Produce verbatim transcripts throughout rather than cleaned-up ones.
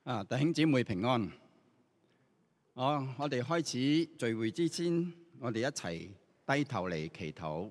啊，弟兄姊妹平安。我我哋開始聚會之前，我哋一齊低頭嚟祈禱。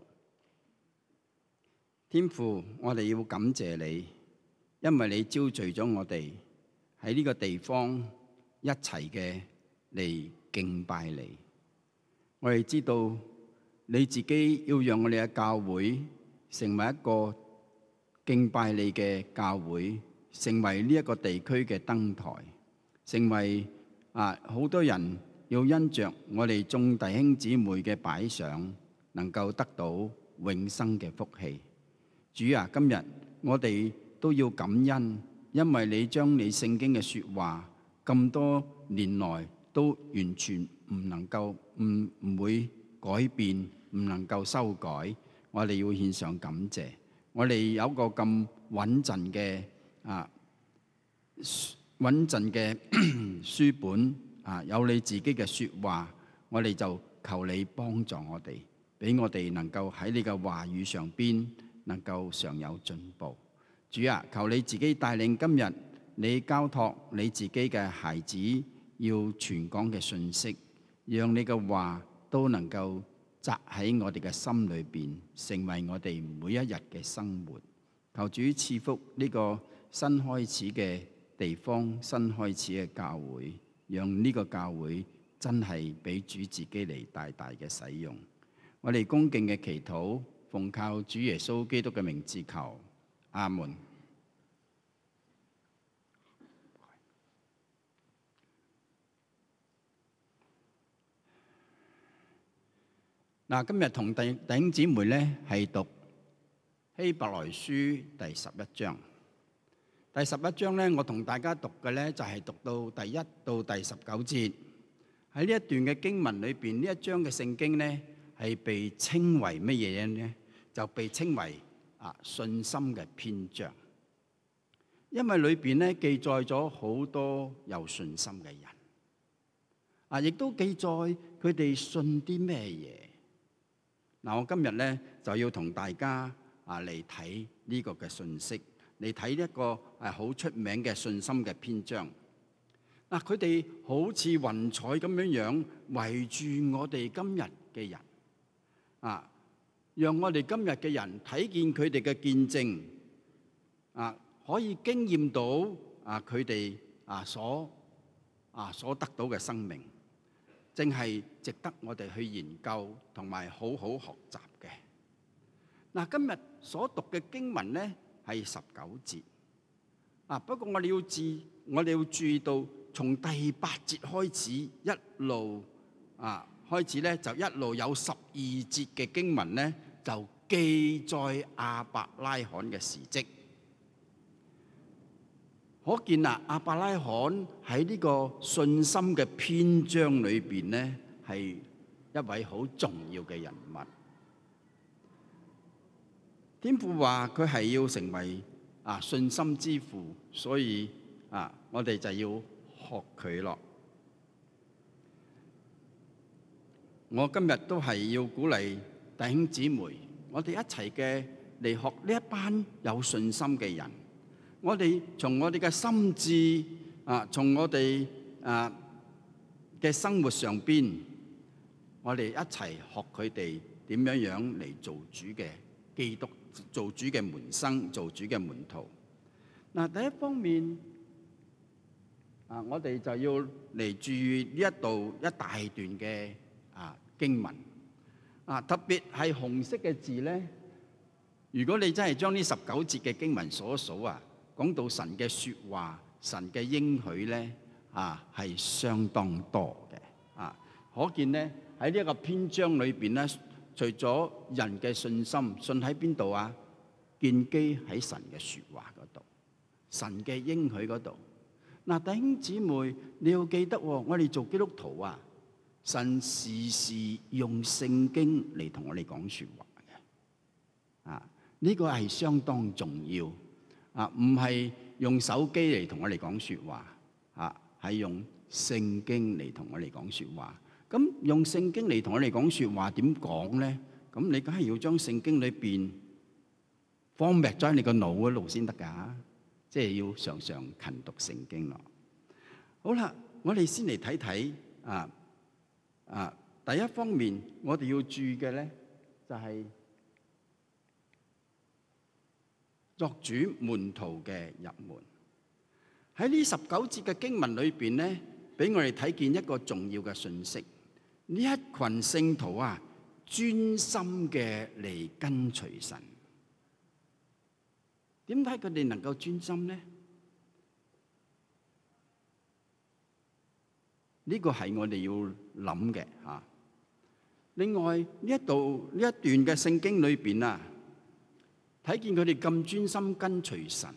天父，我哋要感謝你，因為你招聚咗我哋喺呢個地方一齊嘅嚟敬拜你。我哋知道你自己要讓我哋嘅教會成為一個敬拜你嘅教會，成為呢一個地區嘅燈台，成為啊好多人要因着我哋眾弟兄姊妹嘅擺上，能夠得到永生嘅福氣。主啊，今日我哋都要感恩，因為你將你聖經嘅說話咁多年來都完全唔能夠唔唔會改變，唔能夠修改。我哋要獻上感謝。我哋有一個咁穩陣嘅啊穩陣嘅書本啊，有你自己嘅說話，我哋就求你幫助我哋，俾我哋能夠喺你嘅話語上邊能夠常有進步。主啊，求你自己帶領今日你交託你自己嘅孩子要傳講嘅信息，讓你嘅話都能夠扎喺我哋嘅心裏邊，成為我哋每一日嘅生活。求主賜福呢個新開始嘅地方，新開始嘅教會，讓呢個教會真係俾主自己嚟大大嘅使用。我哋恭敬嘅祈禱，奉靠主耶穌基督嘅名字求，阿門。嗱，今日同弟弟兄姊妹咧係讀希伯來書第十一章。第十一章咧，我同大家讀嘅咧就係讀到第一到第十九節。喺呢一段嘅經文裏邊，呢一章嘅聖經咧係被稱為乜嘢咧？就被稱為啊信心嘅篇章，因為裏邊咧記載咗好多有信心嘅人，啊，亦都記載佢哋信啲咩嘢。嗱，我今日咧就要同大家啊嚟睇呢個嘅信息，嚟睇一個係好出名嘅信心嘅篇章。嗱，佢哋好似雲彩咁樣樣圍住我哋今日嘅人，啊，讓我哋今日嘅人睇見佢哋嘅見證，啊，可以經驗到啊佢哋啊所啊所得到嘅生命。正係值得我哋去研究同埋好好學習嘅。嗱，今日所讀嘅經文咧係十九節。啊，不過我哋要注，我哋要注意到，從第八節開始一路啊開始咧，就一路有十二節嘅經文咧，就記載亞伯拉罕嘅事蹟。可見啊，亞伯拉罕喺呢個信心嘅篇章裏邊呢，係一位好重要嘅人物。天父話佢係要成為啊信心之父，所以啊，我哋就要學佢咯。我今日都係要鼓勵弟兄姊妹，我哋一齊嘅嚟學呢一班有信心嘅人。我哋從我哋嘅心智啊，從我哋啊嘅生活上邊，我哋一齊學佢哋點樣樣嚟做主嘅基督，做主嘅門生，做主嘅門徒。嗱，第一方面啊，我哋就要嚟注意呢一度一大段嘅啊經文啊，特別係紅色嘅字咧。如果你真係將呢十九節嘅經文數一數啊，講到神嘅說話，神嘅應許咧，啊係相當多嘅，啊可見咧喺呢一個篇章裏邊咧，除咗人嘅信心，信喺邊度啊？建基喺神嘅說話嗰度，神嘅應許嗰度。嗱，弟兄姊妹，你要記得，我哋做基督徒啊，神時時用聖經嚟同我哋講說話嘅，啊呢個係相當重要。啊，唔係用手機嚟同我哋講説話，啊，係用聖經嚟同我哋講説話。咁用聖經嚟同我哋講説話點講咧？咁你梗係要將聖經裏邊 format 咗喺你個腦嗰度先得㗎，即係要常常勤讀聖經咯。 好啦，我哋先嚟睇睇啊啊！第一方面，我哋要注意嘅咧，就係作主門徒嘅入門。喺呢十九節嘅經文裏邊咧，俾我哋睇見一個重要嘅信息。呢一群聖徒啊，專心嘅嚟跟隨神。點解佢哋能夠專心呢？呢個係我哋要諗嘅嚇。另外呢一度呢一段嘅聖經裏邊啊，睇見佢哋咁專心跟隨神，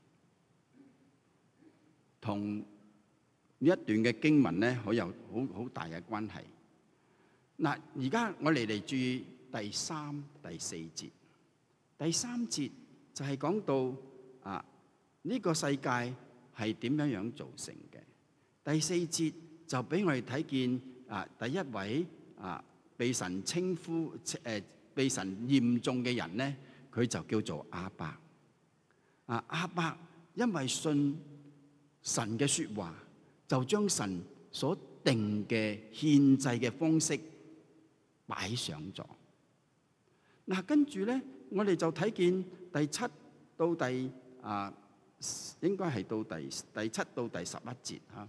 同呢一段嘅經文咧，好有好好大嘅關係。嗱，而家我哋嚟注意第三、第四節。第三節就係講到啊，呢個世界係點樣樣造成嘅。第四節就俾我哋睇見啊，第一位啊被神稱呼誒被神驗中嘅人咧，佢就叫做亞伯。啊，亞伯因為信神嘅説話，就將神所定嘅獻祭嘅方式擺上咗。嗱，跟住咧，我哋就睇見第七到第啊，應該係到第第七到第十一節嚇。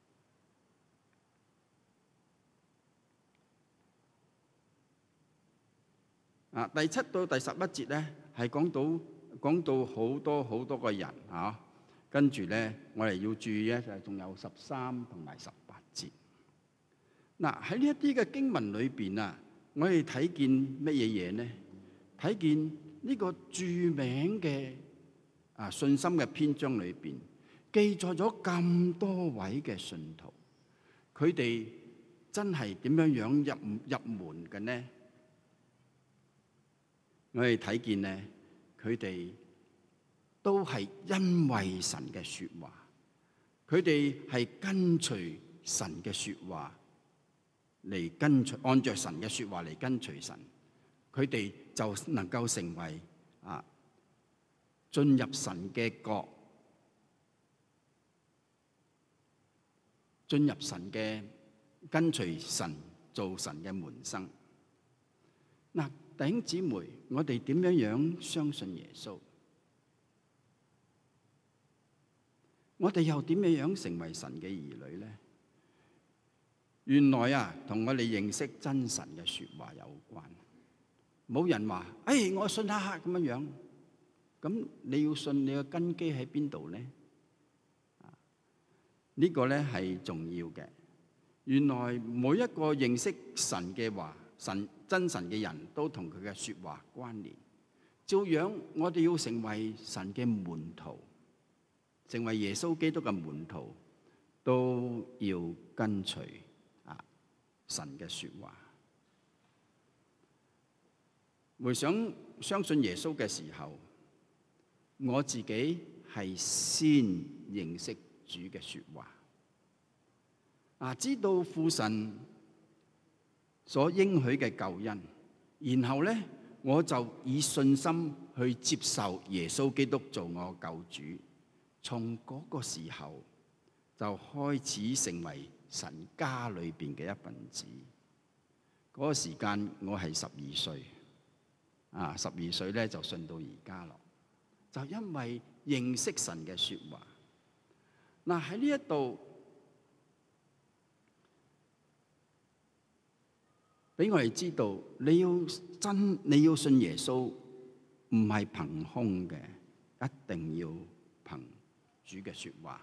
啊，第七到第十一節咧，係講到講到好多好多個人嚇。跟住咧，我哋要注意咧，就係仲有十三同埋十八節。嗱，喺呢一啲嘅經文裏邊啊，我哋睇見乜嘢嘢咧？睇見呢個著名嘅啊信心嘅篇章裏邊，記載咗咁多位嘅信徒，佢哋真係點樣樣入入門嘅呢？我哋睇見咧，佢哋都係因為神嘅説話，佢哋係跟隨神嘅説話嚟跟隨，按著神嘅説話嚟跟隨神，佢哋就能夠成為啊進入神嘅國，進入神嘅跟隨神做神嘅門生。嗱，弟兄姊妹，我哋點樣樣相信耶穌？我哋又點樣樣成為神嘅兒女咧？原來啊，同我哋認識真神嘅説話有關。冇人話，誒，我信下下咁樣樣。咁你要信，你嘅根基喺邊度咧？呢個咧係重要嘅。原來每一個認識神嘅話，神真神嘅人都同佢嘅説話關聯。照樣，我哋要成為神嘅門徒，成為耶穌基督嘅門徒，都要跟隨啊神嘅説話。回想相信耶穌嘅時候，我自己係先認識主嘅説話，啊，知道父神所應許嘅救恩，然後咧我就以信心去接受耶穌基督做我救主。從嗰個時候就開始成為神家裏邊嘅一份子。嗰、那個時間我係十二歲，啊，十二歲咧就信到而家咯。就因為認識神嘅説話。嗱，喺呢一度俾我哋知道，你要真你要信耶穌，唔係憑空嘅，一定要憑主嘅説話。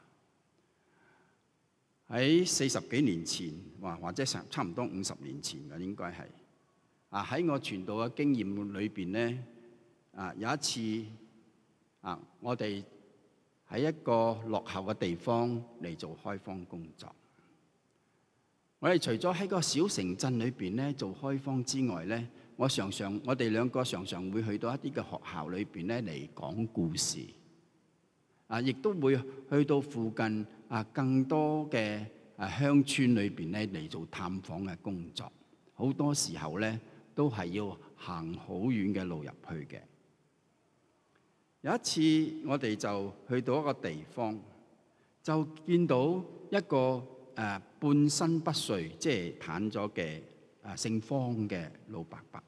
喺四十幾年前，或或者成差唔多五十年前嘅應該係啊，喺我傳道嘅經驗裏邊咧，啊有一次啊，我哋喺一個落後嘅地方嚟做開荒工作。我哋除咗喺個小城鎮裏邊咧做開荒之外咧，我常常我哋兩個常常會去到一啲嘅學校裏邊咧嚟講故事，啊，亦都會去到附近啊更多嘅啊鄉村裏邊咧嚟做探訪嘅工作。好多時候咧都係要行好遠嘅路入去嘅。有一次我哋就去到一個地方， 就見到一個誒、呃、半身不遂，即係癱咗嘅誒姓方嘅老伯伯。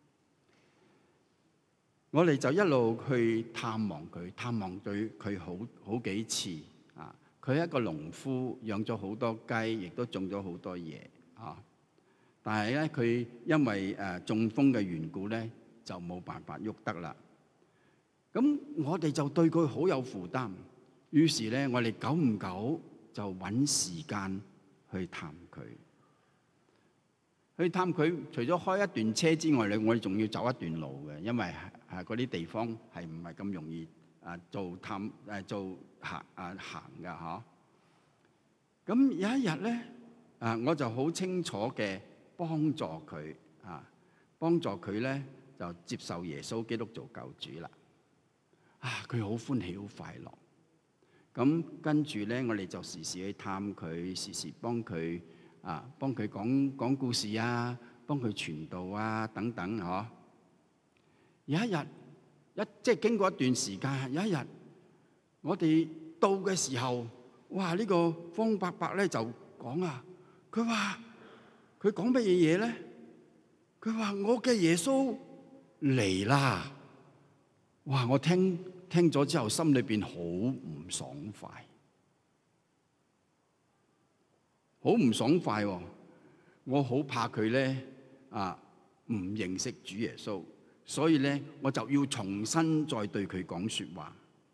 我哋就一路去探望佢，探望對佢好好幾次啊！佢係一個農夫，養咗好多雞，亦都種咗好多嘢啊！但係咧，佢因為誒中風嘅緣故咧，就冇辦法喐得啦。咁我哋就對佢好有負擔，於是咧，我哋久唔久就揾時間去探佢。去探佢，除咗開一段車之外咧，我哋仲要走一段路嘅，因為係嗰啲地方係唔係咁容易啊做探誒做行啊行㗎嚇。咁有一日咧，啊我就好清楚嘅幫助佢啊，幫助佢咧就接受耶穌基督做救主啦。啊，佢好歡喜好快樂。咁跟住咧，我哋就時時去探佢，時時幫佢。啊，幫佢講講故事啊，幫佢傳道啊，等等嗬、啊。有一日一即係經過一段時間，有一日我哋到嘅時候，哇！呢、這個方伯伯咧就講啊，佢話佢講乜嘢嘢咧？佢話我嘅耶穌嚟啦！哇！我聽聽咗之後，心裏邊好唔爽快。好唔爽快喎！我好怕佢咧啊，唔認識主耶穌，所以咧我就要重新再對佢講説話。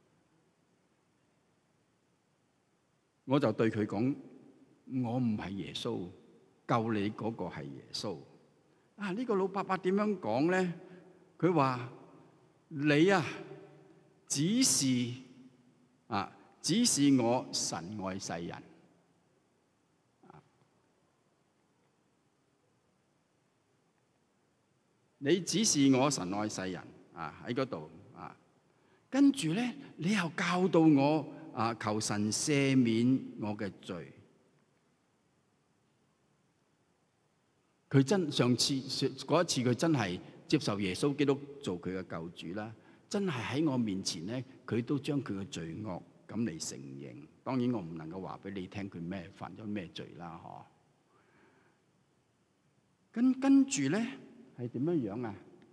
我就對佢講：我唔係耶穌，救你嗰個係耶穌。啊！呢個老伯伯點樣講咧？佢話：你啊，只是啊，只是我神愛世人。你指示我神愛世人啊，喺嗰度啊，跟住咧你又教導我啊，求神赦免我嘅罪。佢真上次嗰一次佢真係接受耶穌基督做佢嘅救主啦，真係喺我面前咧，佢都將佢嘅罪惡咁嚟承認。當然我唔能夠話俾你聽佢咩犯咗咩罪啦，嗬。跟跟住咧。係點樣樣啊？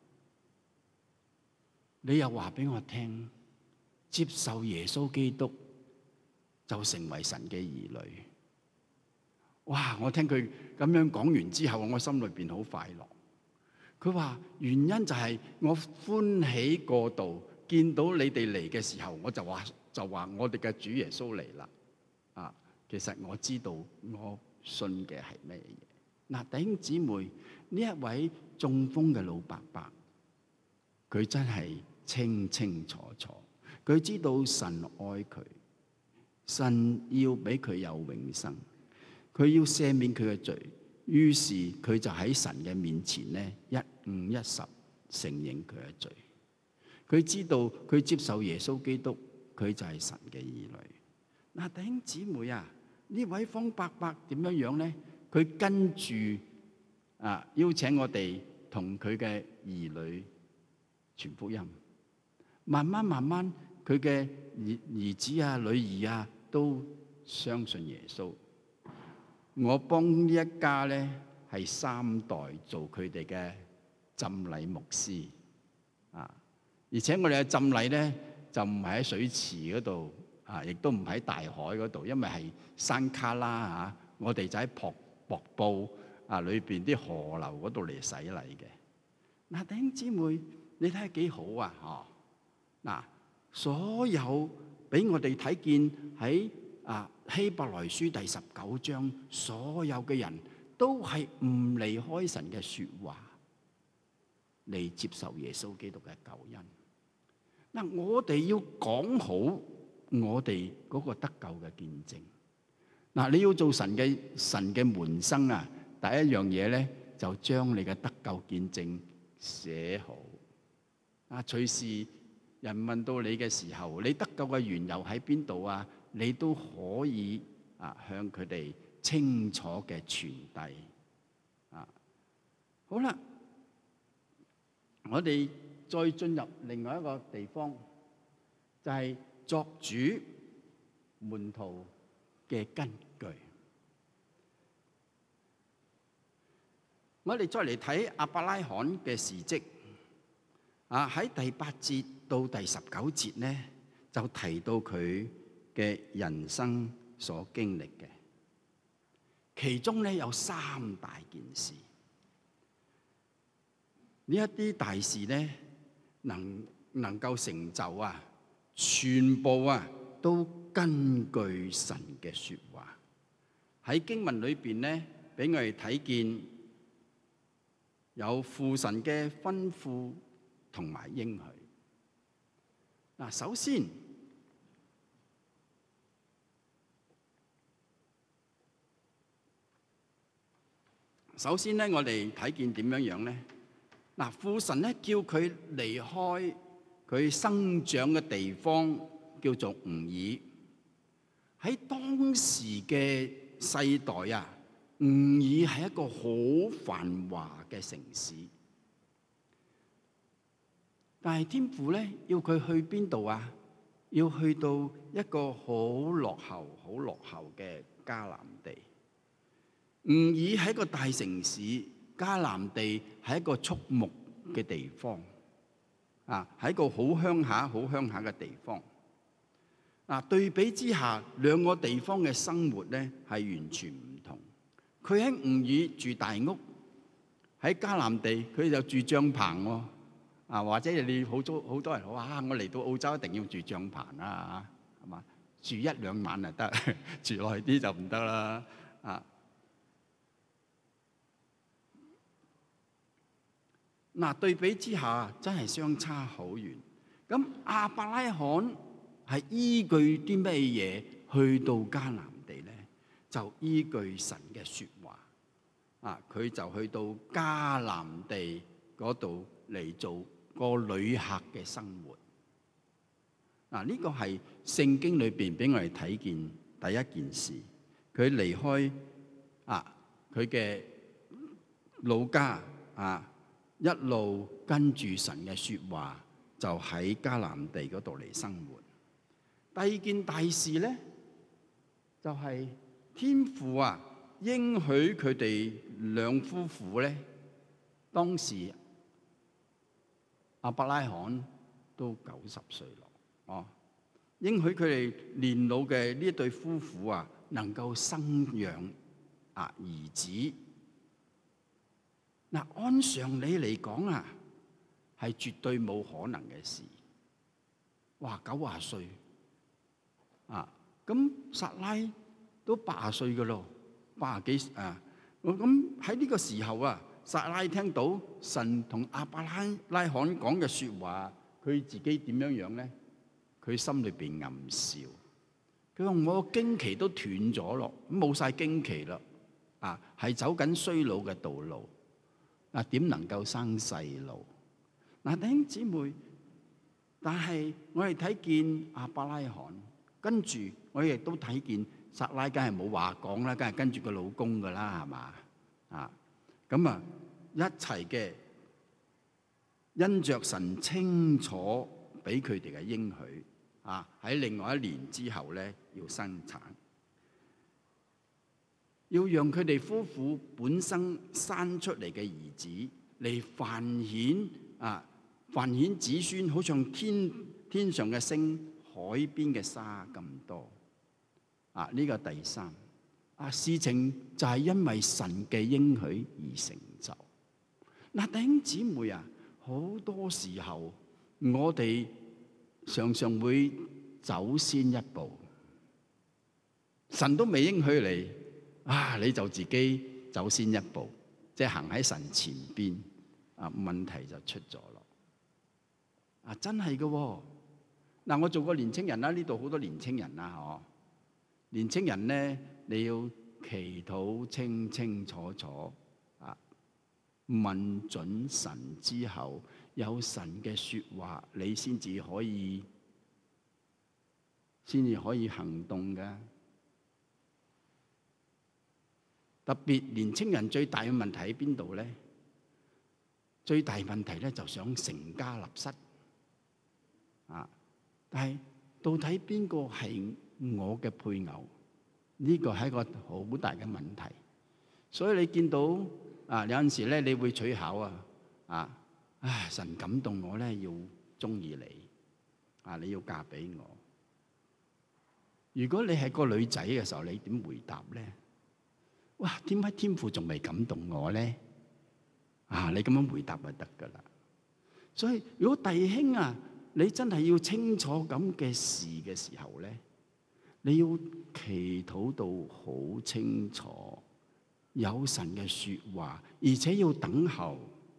你又話俾我聽，接受耶穌基督就成為神嘅兒女。哇！我聽佢咁樣講完之後，我心裏邊好快樂。佢話原因就係我歡喜過度，見到你哋嚟嘅時候，我就話就話我哋嘅主耶穌嚟啦。啊，其實我知道我信嘅係咩嘢。嗱，弟兄姊妹，呢一位中風嘅老伯伯，佢真係清清楚楚，佢知道神愛佢，神要俾佢有永生，佢要赦免佢嘅罪，於是佢就喺神嘅面前咧一五一十承認佢嘅罪。佢知道佢接受耶穌基督，佢就係神嘅兒女。嗱，弟兄姊妹啊，呢位方伯伯點樣樣咧？佢跟住啊，邀請我哋同佢嘅兒女傳福音。慢慢慢慢，佢嘅兒兒子啊、女兒啊都相信耶穌。我幫呢一家咧係三代做佢哋嘅浸禮牧師啊，而且我哋嘅浸禮咧就唔係喺水池嗰度啊，亦都唔喺大海嗰度，因為係山卡拉啊，我哋就喺瀑瀑布啊裏邊啲河流嗰度嚟洗禮嘅。嗱，弟兄姊妹，你睇下幾好啊！嗬，嗱，所有俾我哋睇見喺啊希伯來書第十九章，所有嘅人都係唔離開神嘅說話嚟接受耶穌基督嘅救恩。嗱，我哋要講好我哋嗰個得救嘅見證。嗱，你要做神嘅神嘅門生啊，第一樣嘢咧就將你嘅得救見證寫好。啊，隨時人問到你嘅時候，你得救嘅緣由喺邊度啊？你都可以啊向佢哋清楚嘅傳遞。啊，好啦，我哋再進入另外一個地方，就係作主門徒嘅根據。我哋再嚟睇亞伯拉罕嘅事蹟，啊喺第八節到第十九節呢，就提到佢嘅人生所經歷嘅，其中呢有三大件事。呢一啲大事呢，能能夠成就啊，全部啊都根據神嘅說話。喺經文裏邊呢，俾我哋睇見有父神嘅吩咐同埋應許。嗱，首先首先咧，我哋睇見點樣樣咧？嗱，父神咧叫佢離開佢生長嘅地方，叫做吾珥。喺當時嘅世代啊，吾珥係一個好繁華嘅城市。但係天父咧要佢去邊度啊？要去到一個好落後、好落後嘅迦南地。吾珥係一個大城市，迦南地係一個畜牧嘅地方，啊，係一個好鄉下、好鄉下嘅地方。啊，對比之下，兩個地方嘅生活咧係完全唔同。佢喺吾珥住大屋，喺迦南地佢就住帳篷喎。啊，或者你好多好多人話啊，我嚟到澳洲一定要住帳篷啊，係嘛？住一兩晚就得，住耐啲就唔得啦。啊，嗱，對比之下真係相差好遠。咁亞伯拉罕係依據啲咩嘢去到迦南地咧？就依據神嘅説話。啊，佢就去到迦南地嗰度嚟做個旅客嘅生活。嗱，呢個係聖經裏邊俾我哋睇見第一件事。佢離開啊佢嘅老家啊，一路跟住神嘅説話，就喺迦南地嗰度嚟生活。第二件大事咧，就係天父啊應許佢哋兩夫婦咧，當時亞伯拉罕都九十歲咯，哦，應許佢哋年老嘅呢一對夫婦啊，能夠生養啊兒子。嗱，按常理嚟講啊，係絕對冇可能嘅事。哇，九十歲啊，咁撒拉都八十歲噶咯，八十幾啊，咁喺呢個時候啊。撒拉聽到神同亞伯拉罕講嘅説話，佢自己點樣樣咧？佢心裏邊暗笑。佢話：我個經期都斷咗咯，冇晒經期啦，啊，係走緊衰老嘅道路，啊，點能夠生細路？嗱，弟兄姊妹，但係我哋睇見亞伯拉罕，跟住我哋亦都睇見撒拉，梗係冇話講啦，梗係跟住個老公噶啦，係嘛？啊！咁啊，一齊嘅因着神清楚俾佢哋嘅應許啊，喺另外一年之後咧，要生產，要讓佢哋夫婦本身生出嚟嘅兒子嚟繁衍啊，繁衍子孫，好像天天上嘅星、海邊嘅沙咁多啊！呢個第三。啊！事情就係因為神嘅應許而成就。嗱，弟兄姊妹啊，好多時候我哋常常會走先一步，神都未應許你，啊，你就自己走先一步，即係行喺神前邊，啊，問題就出咗咯。啊，真係㗎喎！嗱，我做過年青人啦，呢度好多年青人啦，嗬。年青人咧，你要祈禱清清楚楚啊，問準神之後，有神嘅説話，你先至可以，先至可以行動㗎。特別年青人最大嘅問題喺邊度咧？最大問題咧就想成家立室啊！但係到底邊個係我嘅配偶，呢個係一個好大嘅問題。所以你見到啊，有陣時咧，你會取巧啊，啊，唉，神感動我咧，要中意你，啊，你要嫁俾我。如果你係個女仔嘅時候，你點回答咧？哇，點解天父仲未感動我咧？啊，你咁樣回答就得噶啦。所以如果弟兄啊，你真係要清楚咁嘅事嘅時候咧，你要祈禱到好清楚，有神嘅說話，而且要等候，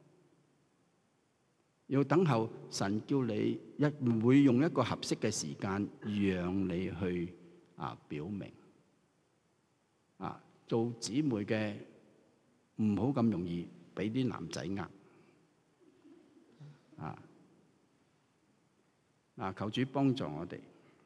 要等候神叫你一唔會用一個合適嘅時間，讓你去啊表明啊，做姊妹嘅唔好咁容易俾啲男仔呃啊！嗱，求主幫助我哋。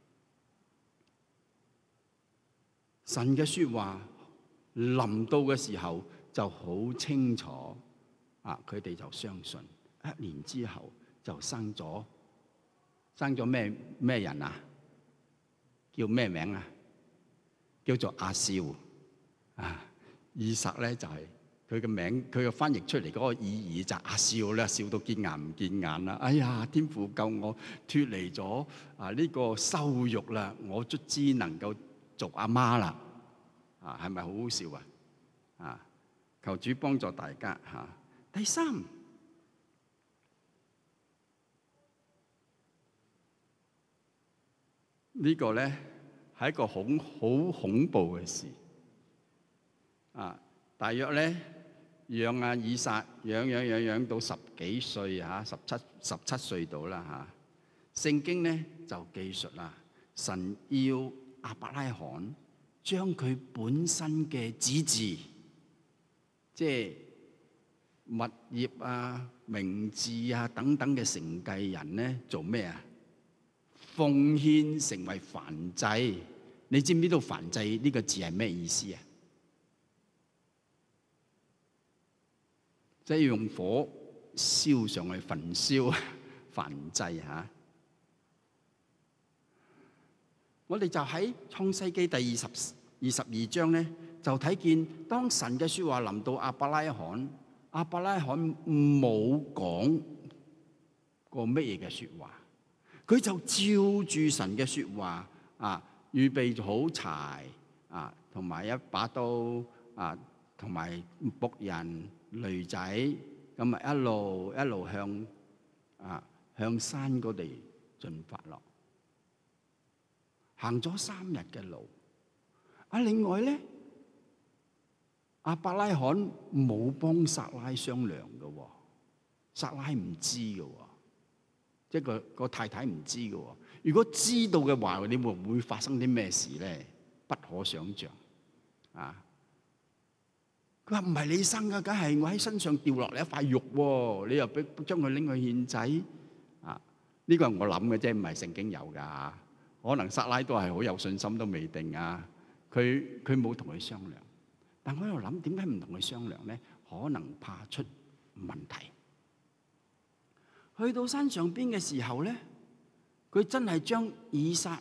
神嘅說話臨到嘅時候就好清楚，啊，佢哋就相信。一年之後就生咗，生咗咩咩人啊？叫咩名啊？叫做阿少啊！以撒咧就係佢嘅名，佢嘅翻譯出嚟嗰個意義就係阿少咧，笑到見眼唔見眼啦！哎呀，天父救我脫離咗啊呢個羞辱啦，我卒之能夠做阿媽啦！啊，係咪好好笑啊？啊，求主幫助大家嚇。第三，呢個咧係一個好好恐怖嘅事啊！大約咧養阿以撒養養養養到十幾歲嚇，十七十七歲到啦嚇。聖經咧就記述啦，神要亞伯拉罕將佢本身嘅子嗣，即係物業啊、名字啊等等嘅承繼人咧，做咩啊？奉獻成為燔祭。你知唔知道燔祭呢個字係咩意思啊？即係用火燒上去焚燒燔祭嚇。我哋就喺創世記第二十二十二章咧，就睇見當神嘅説話臨到亞伯拉罕，亞伯拉罕冇講過乜嘢嘅説話，佢就照住神嘅説話啊，預備好柴啊，同埋一把刀啊，同埋僕人驢仔，咁啊一路一路向啊向山嗰地進發落，行咗三日嘅路。啊，另外咧，亞伯拉罕冇幫撒拉商量嘅喎，撒拉唔知嘅喎，即係個個太太唔知嘅喎。如果知道嘅話，你會唔會發生啲咩事咧？不可想像啊！佢話唔係你生嘅，梗係我喺身上掉落嚟一塊肉喎，你又俾將佢拎去獻祭啊？呢個係我諗嘅啫，唔係聖經有㗎。可能撒拉都係好有信心都未定啊！佢佢冇同佢商量，但我喺度諗點解唔同佢商量咧？可能怕出問題。去到山上邊嘅時候咧，佢真係將以撒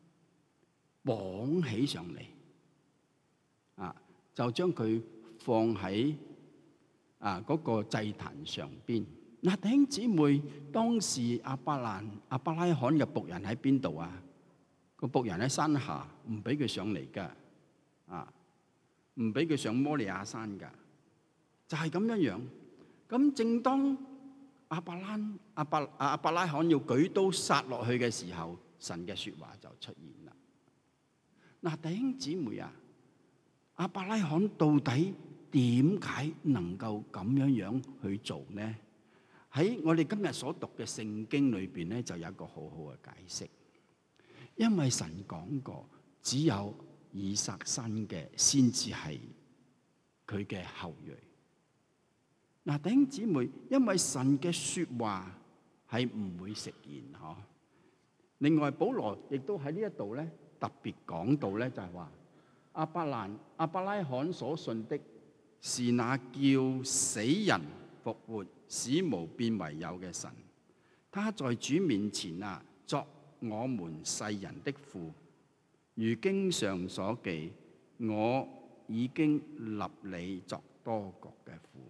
綁起上嚟啊，就將佢放喺啊嗰個祭壇上邊。嗱，弟兄姊妹，當時亞伯蘭亞伯拉罕嘅僕人喺邊度啊？個僕人喺山下，唔俾佢上嚟噶，啊，唔俾佢上摩利亞山噶，就係咁樣樣。咁正當亞伯蘭亞伯亞伯拉罕要舉刀殺落去嘅時候，神嘅說話就出現啦。嗱，弟兄姊妹啊，亞伯拉罕到底點解能夠咁樣樣去做呢？喺我哋今日所讀嘅聖經裏邊咧，就有一個好好嘅解釋。因為神講過，只有以撒生嘅先至係佢嘅後裔。嗱，弟兄姊妹，因為神嘅說話係唔會食言嗬。另外，保羅亦都喺呢一度咧特別講到咧，就係話亞伯蘭亞伯拉罕所信的是那叫死人復活、使無變為有嘅神。他在主面前啊，作我們世人的父， 如經上所記，我已經立你作多國嘅父。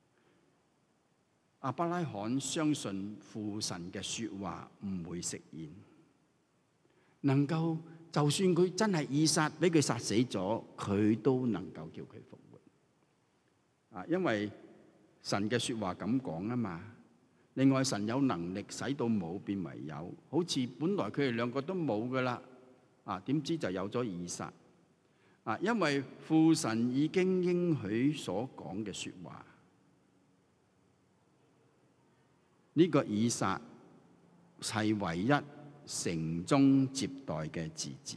亞伯拉罕相信父神嘅説話唔會實現，能夠就算佢真係以撒俾佢殺死咗，佢都能夠叫佢復活。啊，因為神嘅説話咁講啊嘛。另外，神有能力使到冇變為有，好似本來佢哋兩個都冇噶啦，啊點知就有咗以撒。啊，因為父神已經應許所講嘅説話，呢個以撒係唯一承宗接代嘅嗣子。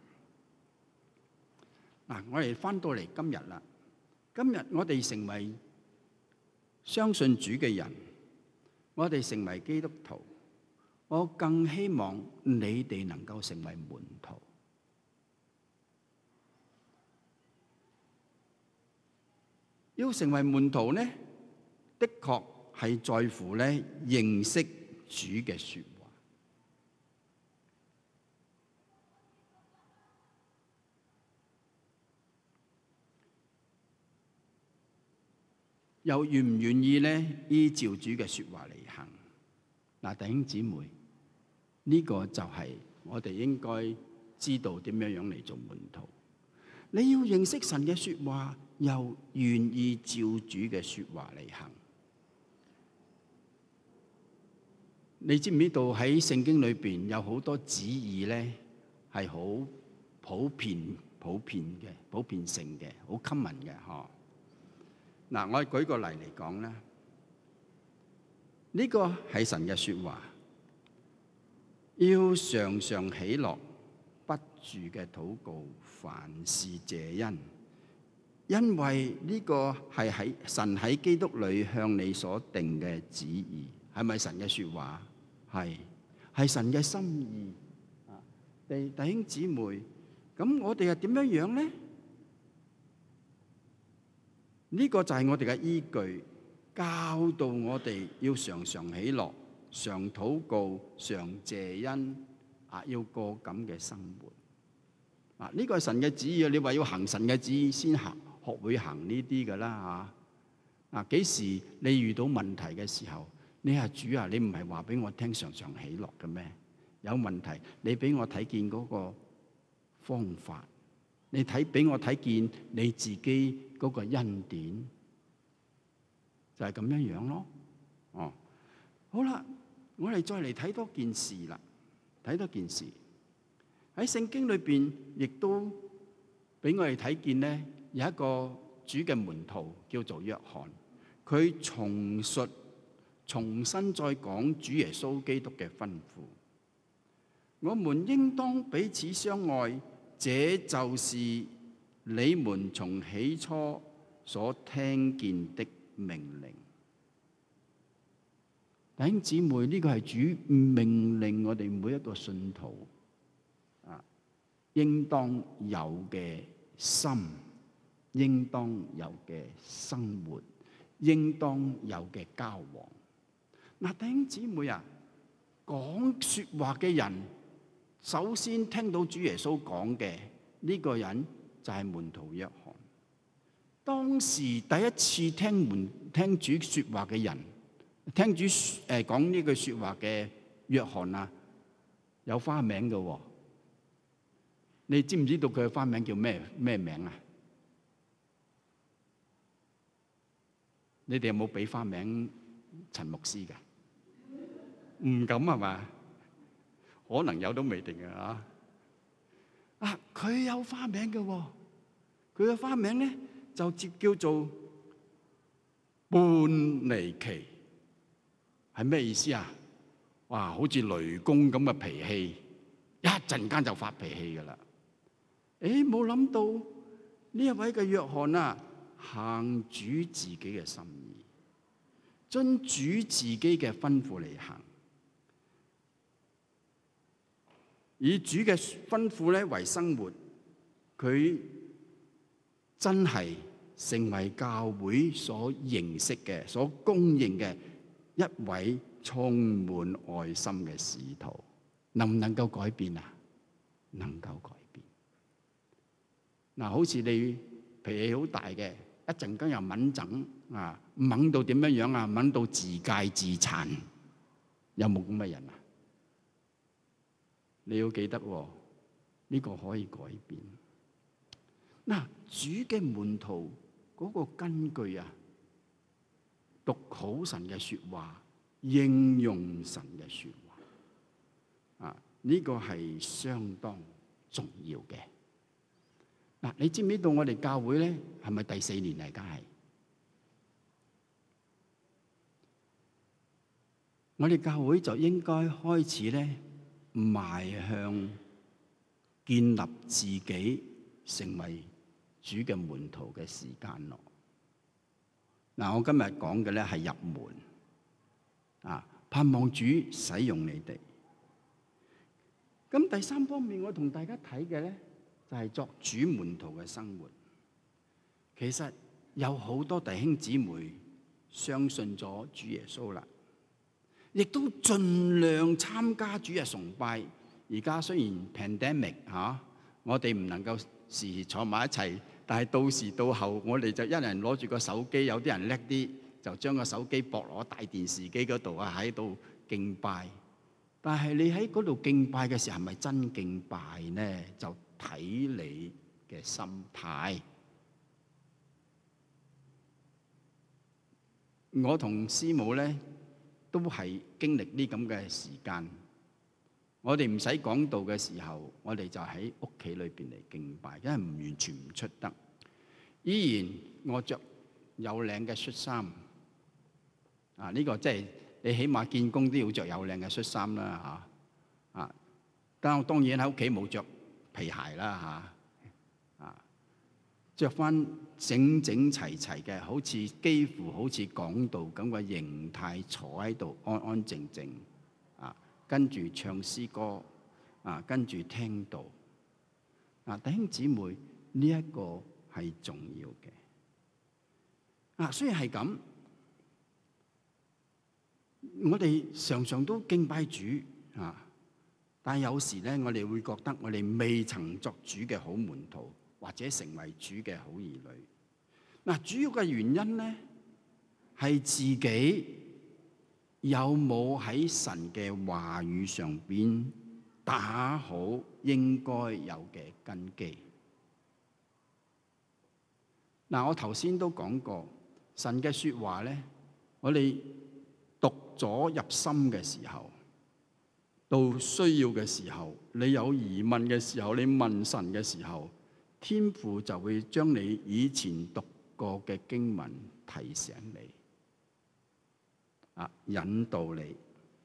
嗱，我哋翻到嚟今日啦，今日我哋成為相信主嘅人，我哋成為基督徒，我更希望你哋能夠成為門徒。要成為門徒呢，的確係在乎咧認識主嘅説話。又願唔願意咧依照主嘅説話嚟行？嗱，弟兄姊妹，呢個就係我哋應該知道點樣樣嚟做門徒。你要認識神嘅説話，又願意照主嘅説話嚟行。你知唔知道喺聖經裏邊有好多旨意咧，係好普遍、普遍嘅、普遍性嘅、好 common 嘅，嗬？嗱，我舉個例嚟講啦，呢個係神嘅説話，要常常喜樂，不住嘅禱告，凡事謝恩，因為呢個係喺神喺基督裏向你所定嘅旨意。係咪神嘅説話？係，係神嘅心意。啊，弟弟兄姊妹，咁我哋係點樣樣咧？呢個就係我哋嘅依據，教導我哋要常常喜樂、常禱告、常謝恩，啊，要過咁嘅生活。啊，呢個係神嘅旨意啊！你話要行神嘅旨意，先行學會行呢啲㗎啦嚇。啊，幾時你遇到問題嘅時候，你話主啊，你唔係話俾我聽常常喜樂嘅咩？有問題，你俾我睇見嗰個方法。你睇俾我睇見你自己嗰個恩典，就係咁樣樣咯。哦，好啦，我哋再嚟睇多件事啦。睇多件事喺聖經裏邊，亦都俾我哋睇見咧，有一個主嘅門徒叫做約翰，佢重述、重新再講主耶穌基督嘅吩咐。我們應當彼此相愛。這就是你們從起初所聽見的命令。弟兄姊妹，呢個係主命令我哋每一個信徒啊，應當有嘅心，應當有嘅生活，應當有嘅交往。嗱，弟兄姊妹啊，講説話嘅人，首先聽到主耶穌講嘅呢個人就係門徒約翰。當時第一次聽門聽主説話嘅人，聽主誒講呢句説話嘅約翰啊，有花名嘅喎。你知唔知道佢嘅花名叫咩咩名啊？你哋有冇俾花名陳牧師㗎？唔敢係嘛？可能有都未定嘅嚇。啊，佢有花名嘅喎，佢嘅花名咧就接叫做叛尼期，係咩意思啊？哇，好似雷公咁嘅脾氣，一陣間就發脾氣㗎啦。誒，冇諗到呢一位嘅約翰啊，行主自己嘅心意，遵主自己嘅吩咐嚟行。以主嘅吩咐咧為生活，佢真係成為教會所認識嘅、所公認嘅一位充滿愛心嘅使徒。能唔能夠改變啊？能夠改變。 嗱，好似你脾氣好大嘅，一陣間又敏整啊，敏到點樣樣啊？敏到自戒自殘，有冇咁嘅人啊？你要記得喎，呢個可以改變。嗱，主嘅門徒嗰個根據啊，讀好神嘅説話，應用神嘅説話啊，呢個係相當重要嘅。嗱，你知唔知道我哋教會咧係咪第四年嚟？梗係我哋教會就應該開始咧邁向建立自己成為主嘅門徒嘅時間咯。嗱，我今日講嘅咧係入門啊，盼望主使用你哋。咁第三方面，我同大家睇嘅咧就係作主門徒嘅生活。其實有好多弟兄姊妹相信咗主耶穌啦，亦都盡量參加主日崇拜。而家雖然 pandemic 嚇，我哋唔能夠時時坐埋一齊，但係到時到後，我哋就一人攞住個手機，有啲人叻啲，就將個手機駁落大電視機嗰度啊，喺度敬拜。但係你喺嗰度敬拜嘅時候，係咪真敬拜呢？就睇你嘅心態。我同師母咧都係經歷呢咁嘅時間。我哋唔使講道嘅時候，我哋就喺屋企裏邊嚟敬拜，因為唔完全唔出得。依然我着有領嘅恤衫啊！呢個即係你起碼見工都要着有領嘅恤衫啦嚇啊！但我當然喺屋企冇着皮鞋啦嚇啊！著翻整整齊齊嘅，好似幾乎好似講道咁嘅形態，坐喺度安安靜靜啊，跟住唱詩歌啊，跟住聽道啊，弟兄姊妹，呢一個係重要嘅啊。雖然係咁，我哋常常都敬拜主啊，但係有時咧，我哋會覺得我哋未曾作主嘅好門徒，或者成為主嘅好兒女。嗱，主要嘅原因咧，係自己有冇喺神嘅話語上邊打好應該有嘅根基。嗱，我頭先都講過，神嘅説話咧，我哋讀咗入心嘅時候，到需要嘅時候，你有疑問嘅時候，你問神嘅時候，天父就會將你以前讀過嘅經文提醒你，啊，引導你。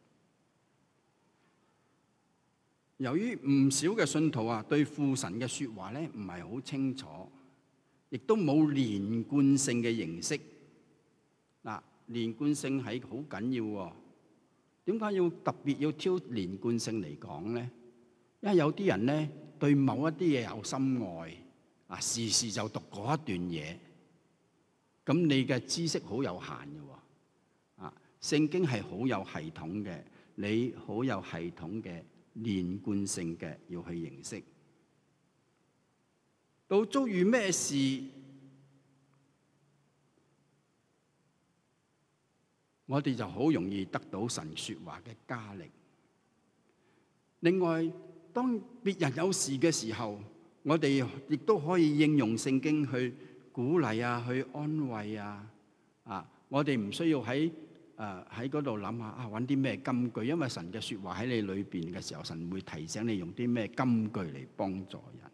由於唔少嘅信徒啊，對父神嘅説話咧唔係好清楚，亦都冇連貫性嘅認識。嗱，連貫性係好緊要喎。點解要特別要挑連貫性嚟講咧？因為有啲人咧對某一啲嘢有心愛，啊，時時就讀嗰一段嘢，咁你嘅知識好有限嘅喎。啊，聖經係好有系統嘅，你好有系統嘅連貫性嘅要去認識。到遭遇咩事，我哋就好容易得到神説話嘅加力。另外，當別人有事嘅時候，我哋亦都可以應用聖經去鼓勵啊，去安慰啊。啊，我哋唔需要喺誒喺嗰度諗下啊，揾啲咩金句，因為神嘅説話喺你裏邊嘅時候，神會提醒你用啲咩金句嚟幫助人。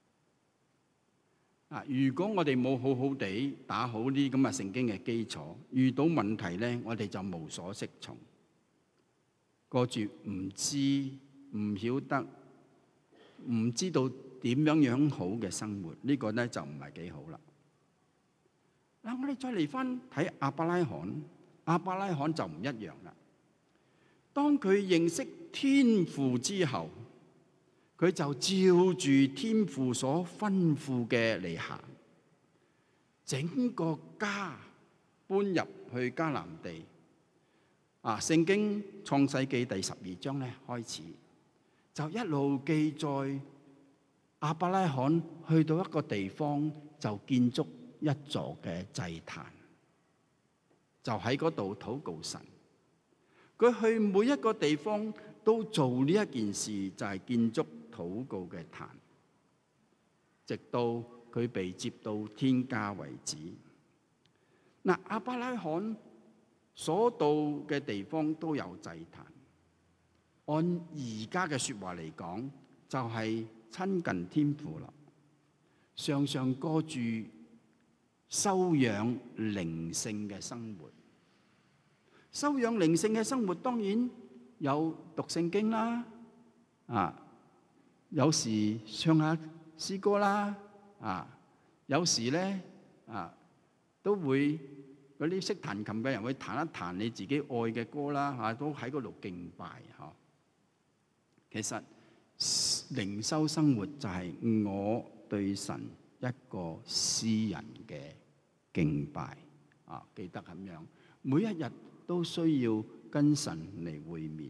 啊，如果我哋冇好好地打好啲咁嘅聖經嘅基礎，遇到問題咧，我哋就無所適從，過住唔知唔曉得唔知道點樣樣好嘅生活，呢個咧就唔係幾好啦。嗱，我哋再嚟翻睇亞伯拉罕，亞伯拉罕就唔一樣啦。當佢認識天父之後，佢就照住天父所吩咐嘅嚟行，整個家搬入去迦南地。啊，聖經創世記第十二章咧開始，就一路記載亞伯拉罕去到一個地方就建築一座嘅祭壇，就喺嗰度禱告神。佢去每一個地方都做呢一件事，就係建築禱告嘅壇，直到佢被接到天家為止。嗱，亞伯拉罕所到嘅地方都有祭壇。按而家嘅說話嚟講，就係親近天父啦，常常過住修養靈性嘅生活。修養靈性嘅生活當然有讀聖經啦，啊，有時唱下詩歌啦，啊，有時咧啊都會嗰啲識彈琴嘅人會彈一彈你自己愛嘅歌啦，嚇都喺嗰度敬拜嚇。其實靈修生活就係我對神一個私人嘅敬拜啊！記得咁樣，每一日都需要跟神嚟會面，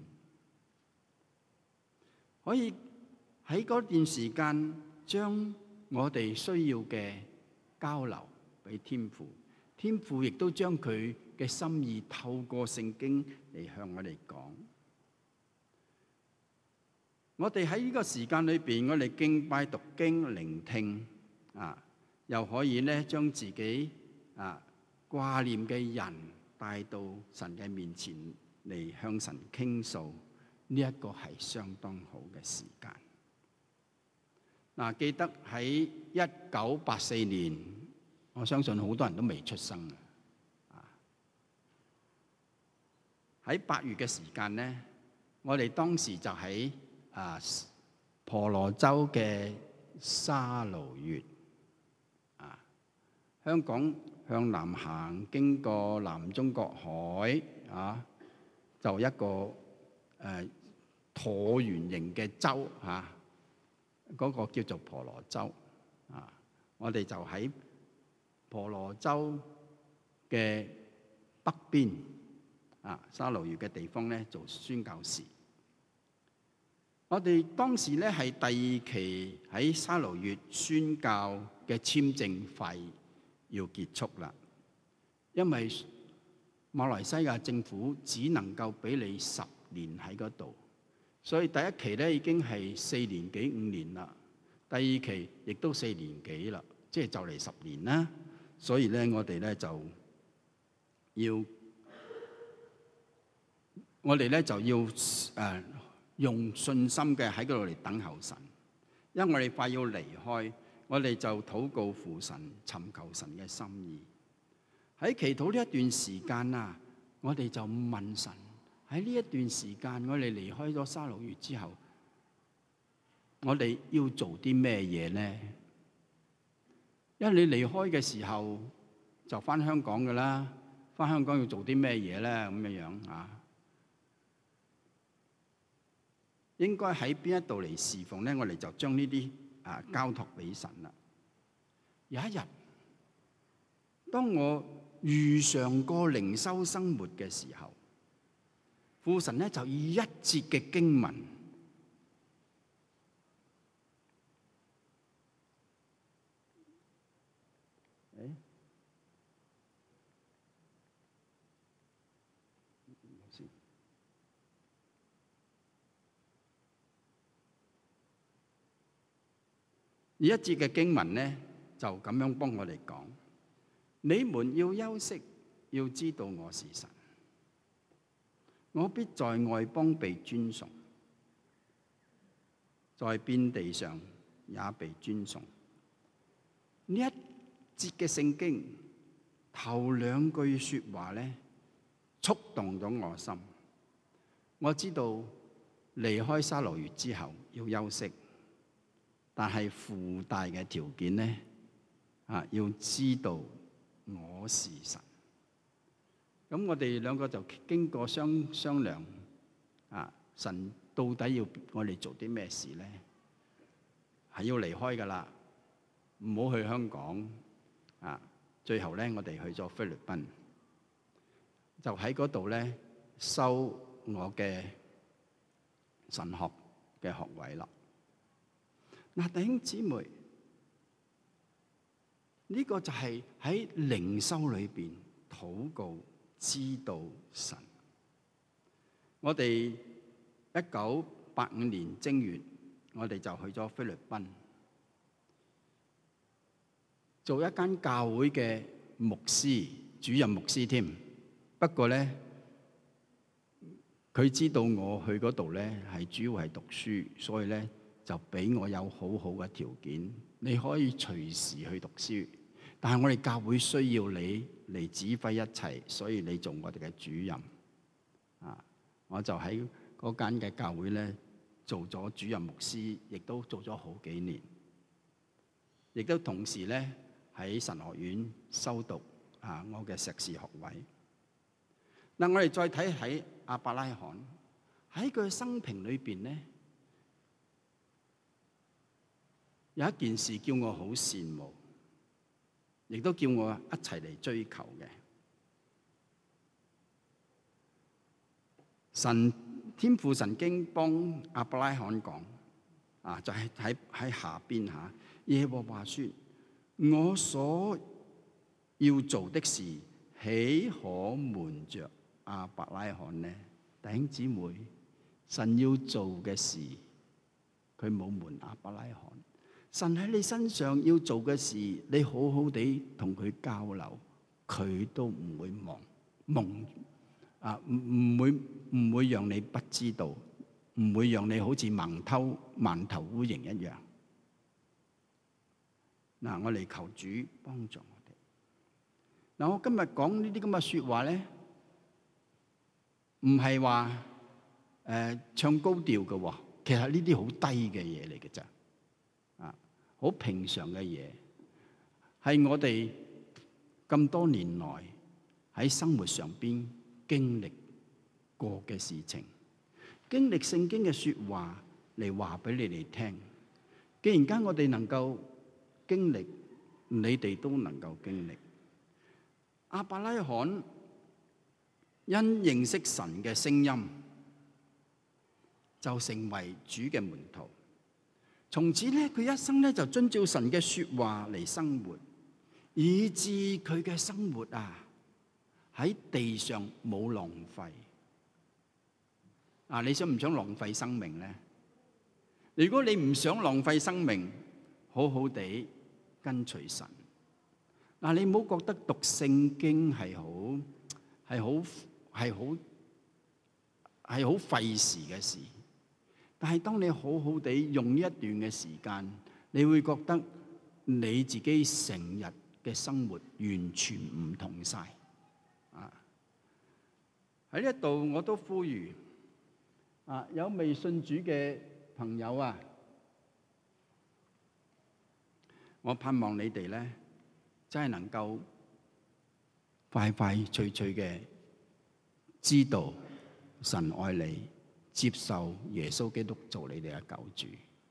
可以喺嗰段時間將我哋需要嘅交流俾天父，天父亦都將佢嘅心意透過聖經嚟向我哋講。我哋喺呢個時間裏邊，我哋敬拜、讀經、聆聽啊，又可以咧將自己啊掛念嘅人帶到神嘅面前嚟向神傾訴，呢一個係相當好嘅時間。嗱，記得喺一九八四年，我相信好多人都未出生啊。喺八月嘅時間咧，我哋當時就喺啊，婆羅洲嘅沙勞越啊，香港向南行，經過南中國海啊，就一個誒、呃、橢圓形嘅洲嚇，嗰、那個叫做婆羅洲啊。我哋就喺婆羅洲嘅北邊啊，沙勞越嘅地方咧做宣教士。我哋當時咧係第二期喺沙勞越宣教嘅簽證費要結束啦，因為馬來西亞政府只能夠俾你十年喺嗰度，所以第一期咧已經係四年幾五年啦，第二期亦都四年幾啦，即係就嚟十年啦。所以咧我哋咧就要，我哋咧就要誒。呃用信心嘅喺嗰度嚟等候神，因為我哋快要離開，我哋就禱告父神，尋求神嘅心意。喺祈禱呢一段時間啊，我哋就問神，喺呢一段時間，我哋離開咗沙勞越之後，我哋要做啲咩嘢呢？因為你離開嘅時候就返香港㗎啦，返香港要做啲咩嘢咧？咁樣樣啊？應該喺邊一度嚟侍奉咧？我哋就將呢啲啊交託俾神啦。有一日，當我遇上過靈修生活嘅時候，父神咧就以一節嘅經文，誒，以一節嘅經文咧，就咁樣幫我哋講：你們要休息，要知道我是神，我必在外邦被尊崇，在遍地上也被尊崇。呢一節嘅聖經頭兩句説話咧，觸動咗我心。我知道離開沙勞越之後要休息。但係附帶嘅條件咧，啊，要知道我是神。咁我哋兩個就經過商商量，啊，神到底要我哋做啲咩事咧？係要離開噶啦，唔好去香港。啊，最後咧，我哋去咗菲律賓，就喺嗰度咧修我嘅神學嘅學位啦。 嗱，弟兄姊妹，呢個就係喺靈修裏邊禱告知道神。我哋一九八五年正月，我哋就去咗菲律賓，做一間教會嘅牧師，主任牧師添。不過咧，佢知道我去嗰度咧係主要係讀書，所以咧就俾我有好好嘅條件，你可以隨時去讀書。但係我哋教會需要你嚟指揮一切，所以你做我哋嘅主任。啊，我就喺嗰間嘅教會咧做咗主任牧師，亦都做咗好幾年，亦都同時咧喺神學院修讀啊我嘅碩士學位。嗱，我哋再睇喺亞伯拉罕喺佢生平裏邊咧，有一件事叫我好羨慕，亦都叫我一齊嚟追求嘅。神天父神經幫亞伯拉罕講啊，就係喺喺下邊嚇，耶和華說：我所要做的事，豈可瞞着亞伯拉罕呢？弟兄姊妹，神要做嘅事，佢冇瞞亞伯拉罕。神喺你身上要做嘅事，你好好地同佢交流，佢都唔會忘蒙啊，唔唔會唔會讓你不知道，唔會讓你好似盲偷盲頭烏蠅一樣。嗱，我嚟求主幫助我哋。嗱，我今日講呢啲咁嘅説話咧，唔係話誒唱高調嘅喎，其實呢啲好低嘅嘢嚟嘅咋，啊，好平常嘅嘢，係我哋咁多年來喺生活上邊經歷過嘅事情，經歷聖經嘅説話嚟話俾你哋聽。既然間我哋能夠經歷，你哋都能夠經歷。亞伯拉罕因認識神嘅聲音，就成為主嘅門徒。從此咧，佢一生咧就遵照神嘅説話嚟生活，以致佢嘅生活啊喺地上冇浪費。啊，你想唔想浪費生命咧？如果你唔想浪費生命，好好地跟隨神。嗱，你唔好覺得讀聖經係好係好係好係好費時嘅事。但係當你好好地用呢一段嘅時間，你會覺得你自己成日嘅生活完全唔同晒。啊！喺呢一度我都呼籲啊，有未信主嘅朋友啊，我盼望你哋咧真係能夠快快脆脆嘅知道神愛你，接受耶穌基督做你哋嘅救主。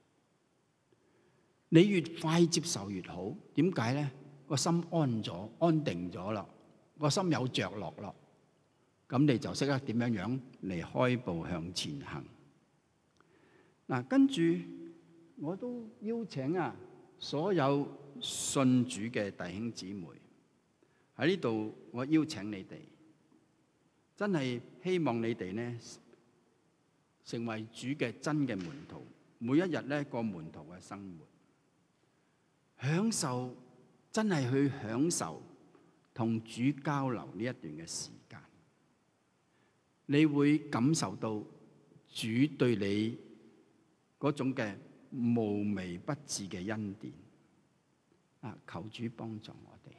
你越快接受越好。點解咧？個心安咗、安定咗啦，個心有着落咯。咁你就識得點樣樣嚟開步向前行。嗱，跟住我都邀請啊所有信主嘅弟兄姊妹喺呢度，我邀請你哋，真係希望你哋呢成為主嘅真嘅門徒，每一日呢過門徒嘅生活，享受真係去享受同主交流呢一段嘅時間，你會感受到主對你嗰種嘅無微不至嘅恩典。啊！求主幫助我哋。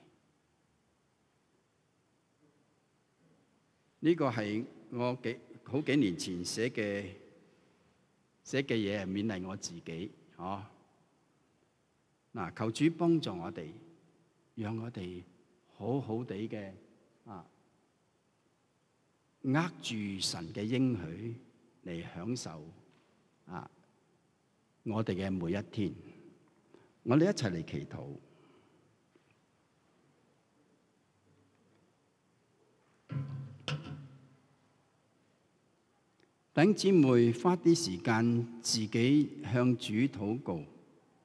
呢個係我幾好幾年前寫嘅寫嘅嘢，係勉勵我自己。哦，嗱，求主幫助我哋，讓我哋好好地嘅啊，握住神嘅應許嚟享受啊我哋嘅每一天。我哋一齊嚟祈禱。弟兄姊妹，花啲時間自己向主禱告，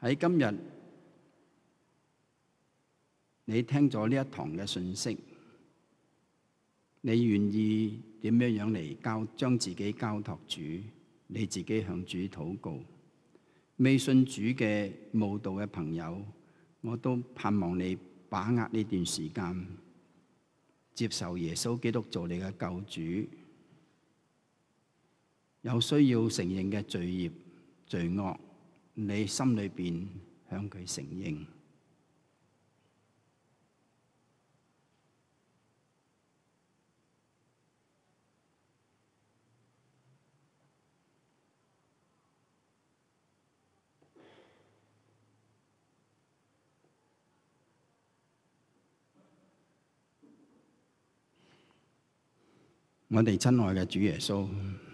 喺今日你聽咗呢一堂嘅信息，你願意點樣樣嚟交將自己交託主？你自己向主禱告。未信主嘅慕道嘅朋友，我都盼望你把握呢段時間，接受耶穌基督做你嘅救主。有需要承認嘅罪孽、罪惡，你心裏邊向佢承認。我哋親愛嘅主耶穌，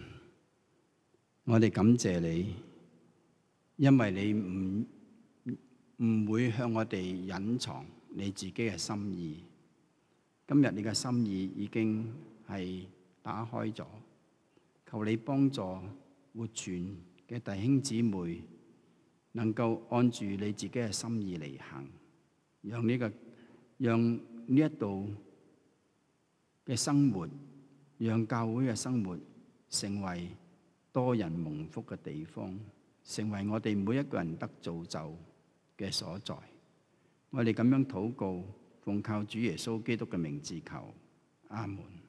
我哋感謝你，因為你唔唔會向我哋隱藏你自己嘅心意。今日你嘅心意已經係打開咗，求你幫助活泉嘅弟兄姊妹能夠按住你自己嘅心意嚟行，讓呢個讓呢一度嘅生活，讓教會嘅生活成為多人蒙福嘅地方，成為我哋每一個人得造就嘅所在。我哋咁樣禱告，奉靠主耶穌基督嘅名字求，阿門。